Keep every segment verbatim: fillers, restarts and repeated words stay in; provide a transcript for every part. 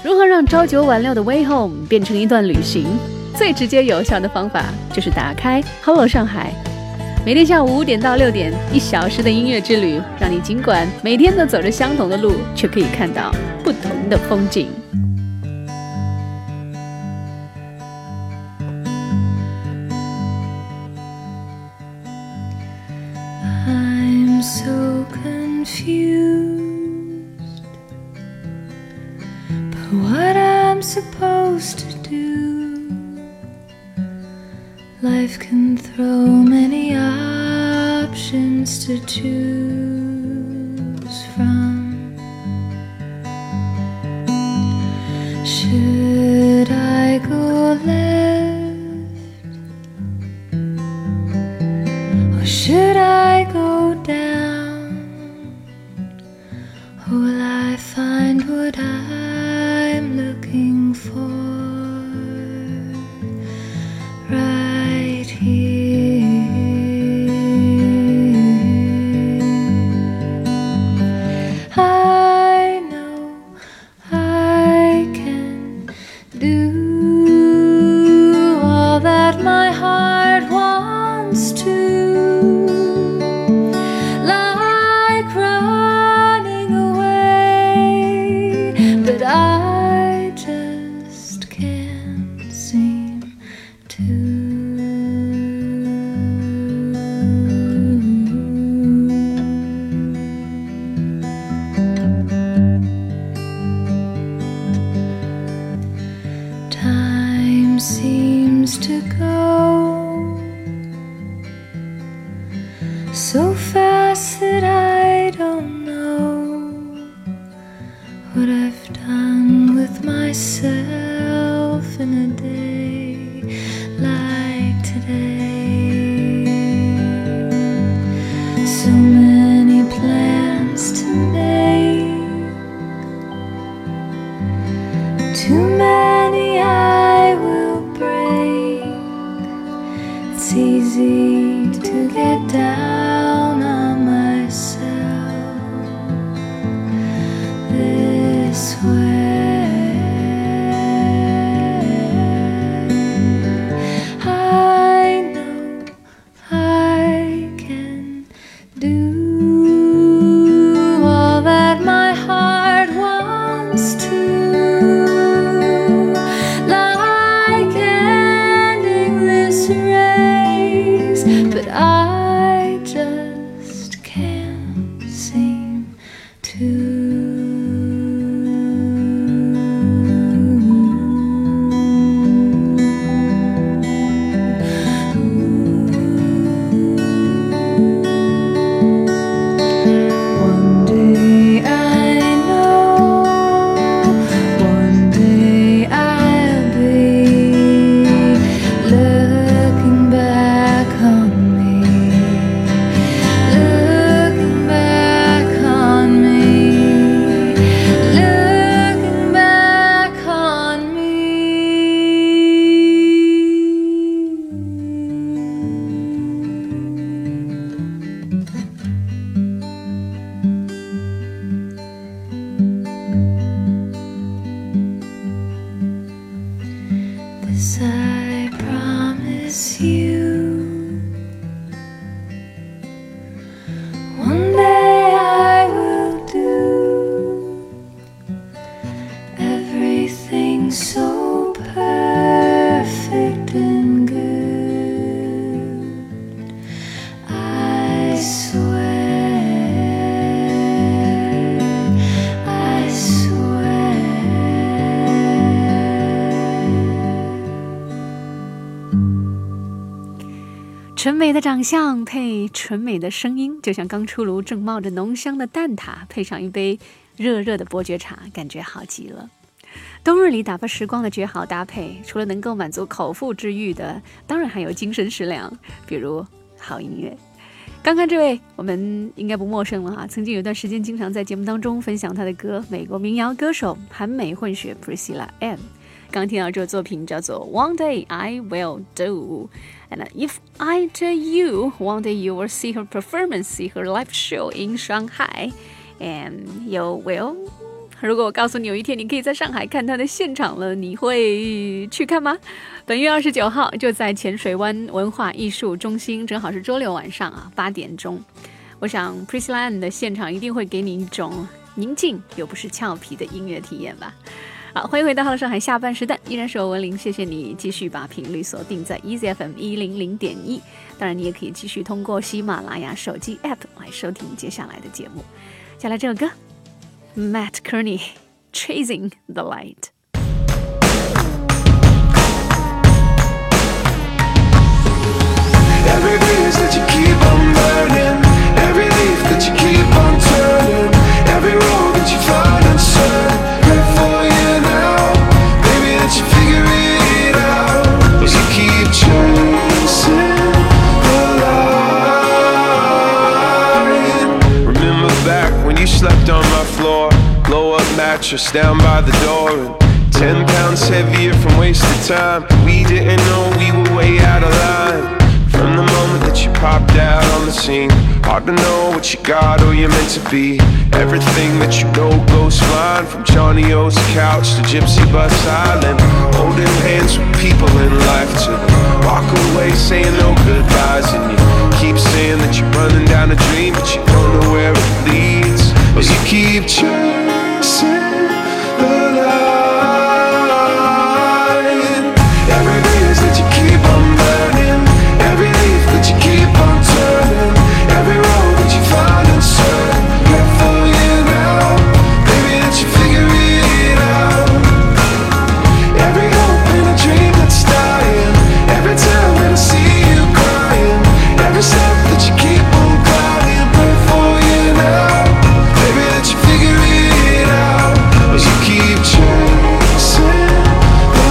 如何让朝九晚六的 Way Home 变成一段旅行？最直接有效的方法就是打开 Hello 上海，每天下午五点到六点，一小时的音乐之旅，让你尽管每天都走着相同的路，却可以看到不同的风景。 I'm so confused by what I'm supposed to do. Life can throw many options to choose from. Should I go left, or should I go down? Or will I find what I'm looking for right here? I know I can do all that my heart wants to, like running away, but I just can't seem to. Time seems to go so fast that I don't know what I've done with myself in a day like today. So many plans to make, too many I will break. It's easy to get down on myself this way. I know I can do all that my heart wants to, like ending this race, but I just can't seem to. One day I know, one day I'll be looking back on me, looking back on me, looking back on me. This I promise you, one day I will do everything so perfect and good. I swear, I swear. 纯美的长相配纯美的声音，就像刚出炉正冒着浓香的蛋挞，配上一杯热热的伯爵茶，感觉好极了。冬日里打发时光的绝好搭配，除了能够满足口腹之欲的，当然还有精神食粮，比如好音乐。刚刚这位我们应该不陌生了哈，曾经有段时间经常在节目当中分享他的歌，美国民谣歌手韩美混血 Priscilla Ann。刚听到这个作品叫做 One Day I Will Do， and if I tell you one day you will see her performance, see her live show in Shanghai, and you will 如果我告诉你有一天你可以在上海看他的现场了，你会去看吗？本月二十九号就在浅水湾文化艺术中心，正好是周六晚上啊，八点钟。我想 Priscilla Ann 的现场一定会给你一种宁静又不是俏皮的音乐体验吧。好，欢迎回到Hello上海下半时段，依然是我文玲，谢谢你继续把频率锁定在 Easy F M 一零零点一。当然，你也可以继续通过喜马拉雅手机 App 来收听接下来的节目。接下来这首歌 ，Matt Kearney Chasing the Light。Every breeze that you keep on burning, every leaf that you keep on turning, every road that you find uncertain. For you now, baby, that you figure it out as you keep chasing the light. Remember back when you slept on my floor, blow up mattress down by the door, and ten pounds heavier from wasted time. We didn't know we were way out of line. From the moment that you popped out on the scene, hard to know what you got or you're meant to be. Everything that you know goes flying, from Johnny O's couch to Gypsy Bus Island. Holding hands with people in life to walk away saying no goodbyes. And you keep saying that you're running down a dream, but you don't know where it leads. As you keep chasing the light. Every breeze that you keep on burning, every leaf that you keep on turning, every road that you find uncertain. Good for you now, baby, that you figure it out. Every hope and a dream that's dying, every time that I see you crying, every step that you keep on climbing. Pray for you now, baby, that you figure it out as you keep chasing the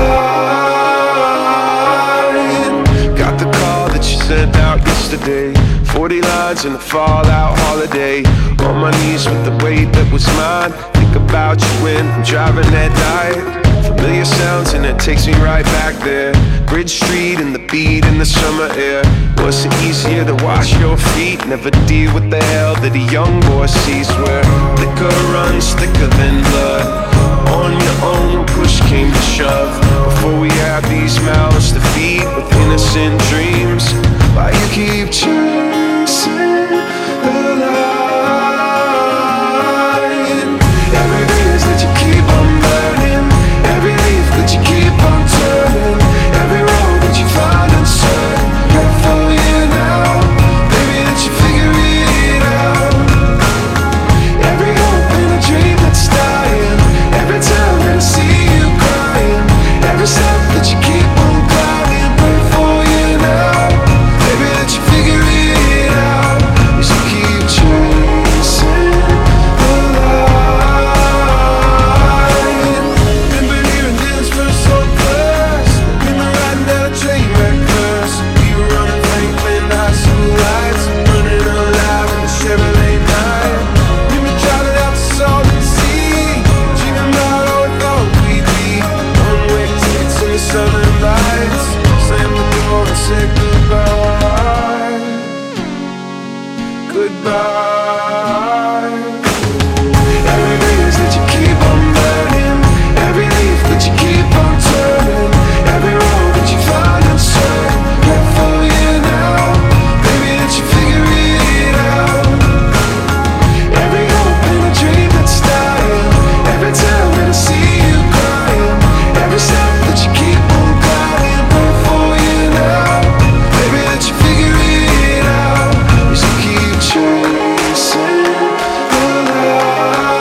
light. Got the call that you sent out yesterday, forty lines in a fallout holiday. On my knees with the weight that was mine, think about you when I'm driving at night. Familiar sounds and it takes me right back there. Bridge Street and the beat in the summer air. Was it easier to wash your feet? Never deal with the hell that a young boy sees, where liquor runs thicker than blood. On your own, push came to shove. Before we had these mouths to feed with innocent dreams, why you keep chasing the light? Every breeze that you keep on burning, every leaf that you keep on turning, every road that you find uncertain. Good for you now, baby, that you figure it out. Every hope and a dream that's dying, every time that I see you crying, every step that you keep on climbing. Pray for you now, baby, that you figure it out as you keep chasing the light. Remember hearing this verse so fast, remember riding down a train wreck first. We were running Franklin high school lights, running alive in the Chevrolet night. Remember driving out to Salton Sea, dreaming about all we thought we'd be. One-way tickets in the Southern Lights, slammed the door and said goodbye. Goodbye. Every breeze that you keep on burning, every leaf that you keep on turning, every road that you find uncertain. Good for you now, baby, that you figure it out. Every hope and a dream that's dying, every time that I see you crying, every step that you keep on climbing. Pray for you now, baby, that you figure it out as you keep chasing the light.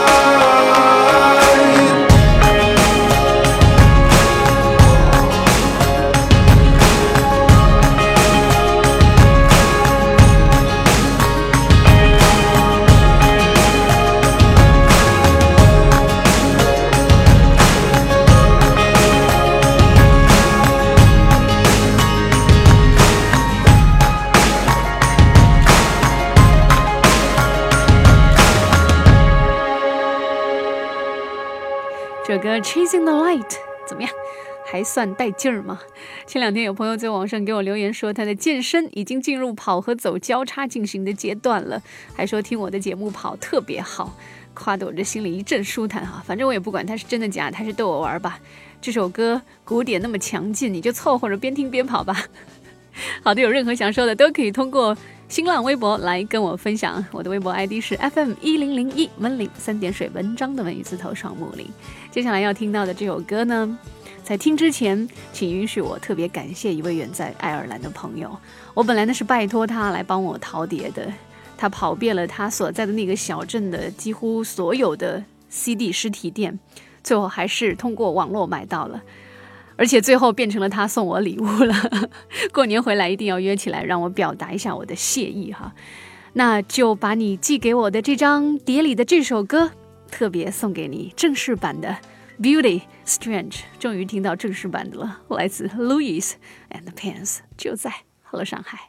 这首歌 Chasing the Light 怎么样？还算带劲儿吗？前两天有朋友在网上给我留言说，他的健身已经进入跑和走交叉进行的阶段了，还说听我的节目跑特别好。 夸得我这心里一阵舒坦哈。反正我也不管它是真的假的，还是逗我玩吧。这首歌鼓点那么强劲，你就凑合着边听边跑吧。好的，有任何想说的都可以通过新浪微博来跟我分享，我的微博 I D 是 F M 一零零一文林三点水文章的文语字头双木林。接下来要听到的这首歌呢，在听之前请允许我特别感谢一位远在爱尔兰的朋友。我本来呢是拜托他来帮我淘碟的，他跑遍了他所在的那个小镇的几乎所有的 C D 实体店，最后还是通过网络买到了，而且最后变成了他送我礼物了。过年回来一定要约起来，让我表达一下我的谢意哈。那就把你寄给我的这张碟里的这首歌特别送给你，正式版的 Beauty Strange， 终于听到正式版的了，来自 Louis and the Pants， 就在Hello上海。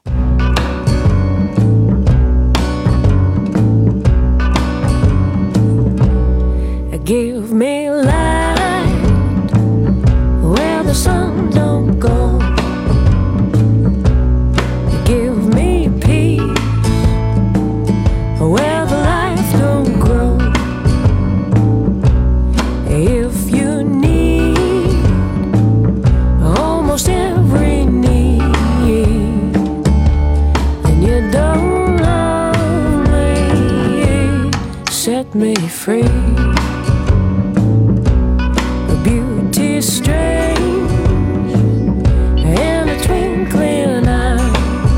Give me light where the sun don't go. Give me peace where the life don't grow. If you need almost every need, and you don't love me, set me free.Beauty strange and a twinkling eye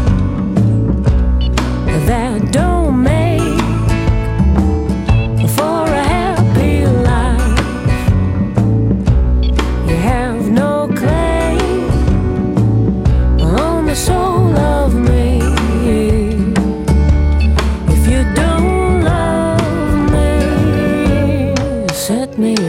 that don't make for a happy life. You have no claim on the soul of me if you don't love me, set me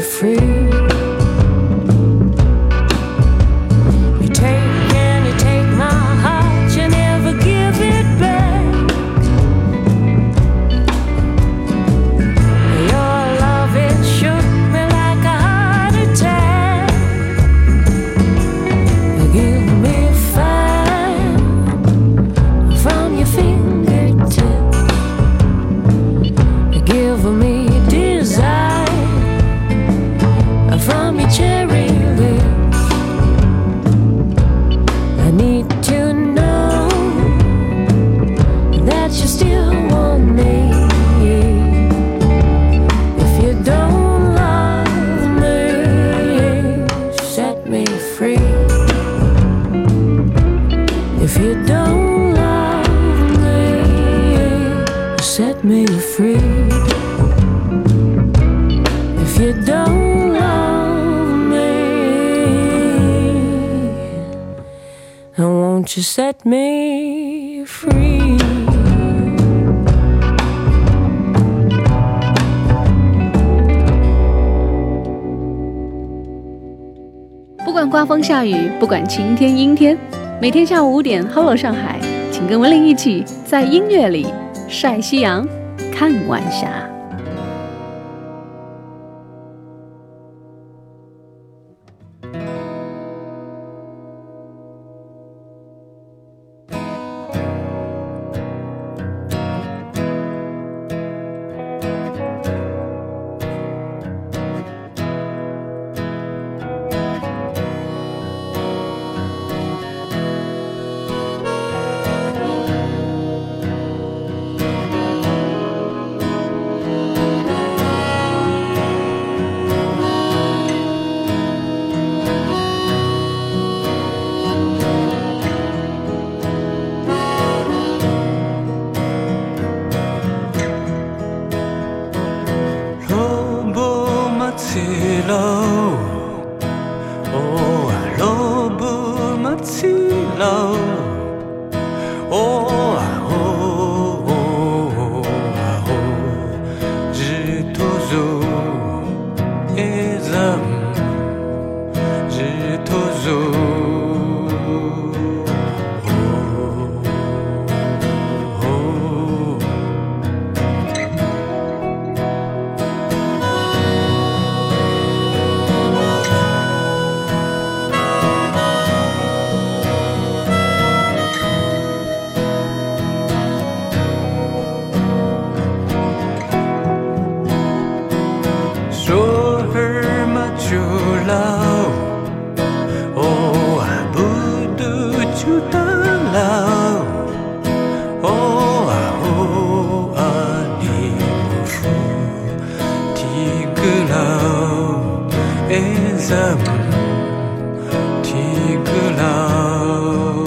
free.Set me free. 不管刮风下雨，不管晴天阴天，每天下午五点 Hello 上海，请跟文玲一起在音乐里晒夕阳看晚霞。 세월은 티끌라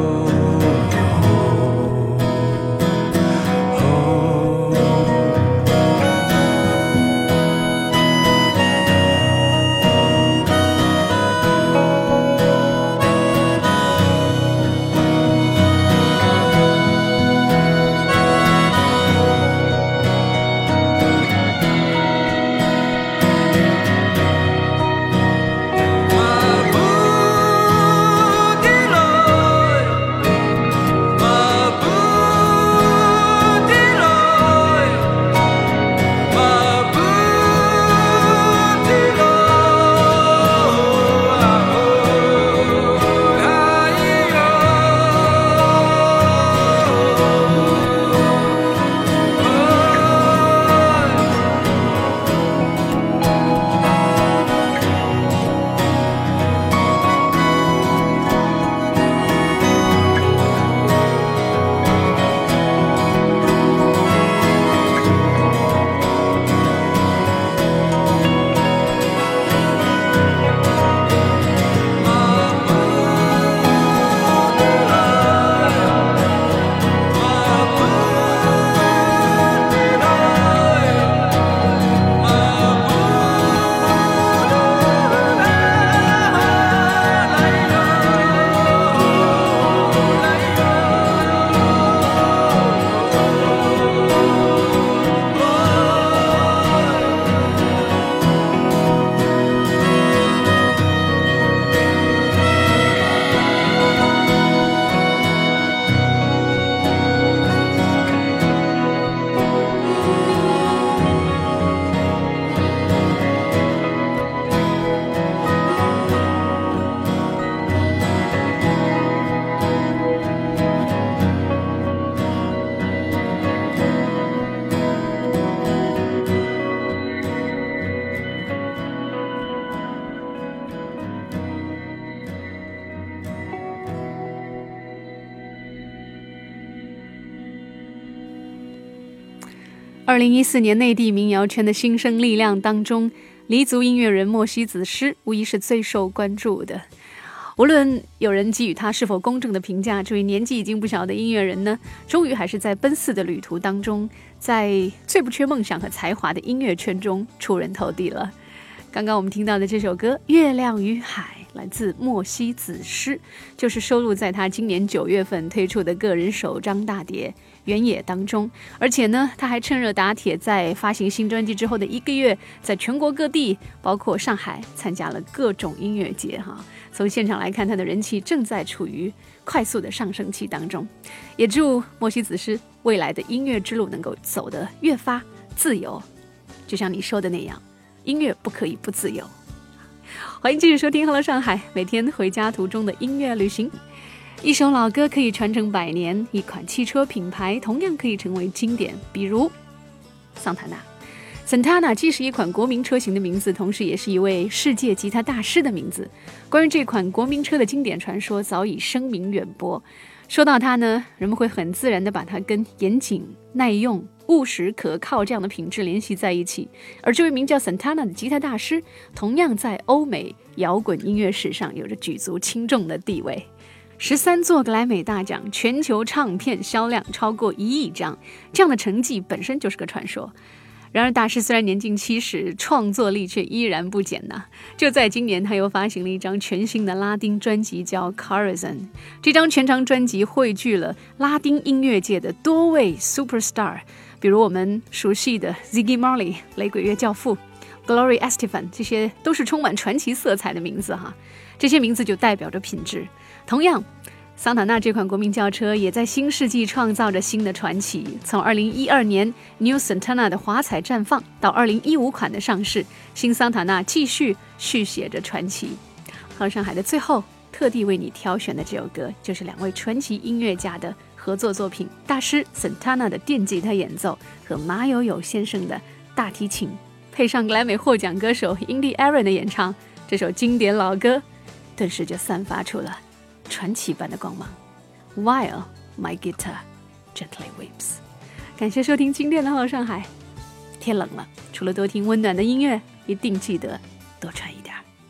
二零一四年内地民谣圈的新生力量当中，黎族音乐人莫西子诗无疑是最受关注的。无论有人给予他是否公正的评价，这位年纪已经不小的音乐人呢，终于还是在奔四的旅途当中，在最不缺梦想和才华的音乐圈中出人头地了。刚刚我们听到的这首歌《月亮与海》来自莫西子诗，就是收录在他今年九月份推出的个人首张大碟《原野》当中。而且呢，他还趁热打铁，在发行新专辑之后的一个月，在全国各地，包括上海，参加了各种音乐节哈。从现场来看，他的人气正在处于快速的上升期当中。也祝莫西子诗未来的音乐之路能够走得越发自由，就像你说的那样，音乐不可以不自由。欢迎继续收听 Hello 上海，每天回家途中的音乐旅行。一首老歌可以传承百年，一款汽车品牌同样可以成为经典，比如桑塔纳。Santana 既是一款国民车型的名字，同时也是一位世界吉他大师的名字。关于这款国民车的经典传说早已声名远播。说到它呢，人们会很自然地把它跟严谨、耐用、务实、可靠这样的品质联系在一起。而这位名叫 Santana 的吉他大师，同样在欧美摇滚音乐史上有着举足轻重的地位。十三座格莱美大奖，全球唱片销量超过一亿张，这样的成绩本身就是个传说。然而大师虽然年近七十，创作力却依然不减呐。就在今年，他又发行了一张全新的拉丁专辑，叫 Corazon。 这张全长专辑汇聚了拉丁音乐界的多位 superstar， 比如我们熟悉的 Ziggy Marley 雷鬼乐教父， Gloria Estefan， 这些都是充满传奇色彩的名字哈。这些名字就代表着品质。同样，桑塔纳这款国民轿车也在新世纪创造着新的传奇。从二零一二年 New Santana 的华彩绽放到二零一五款的上市，新桑塔纳继续续写着传奇。和上海的最后，特地为你挑选的这首歌，就是两位传奇音乐家的合作作品，大师 Santana 的电吉他演奏和马友友先生的大提琴，配上格莱美获奖歌手 Indy Aaron 的演唱，这首经典老歌顿时就散发出了传奇般的光芒。 While my guitar gently weeps。 感谢收听今天的Hello上海。天冷了，除了多听温暖的音乐，一定记得多穿一点。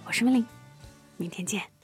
我是文玲，明天见。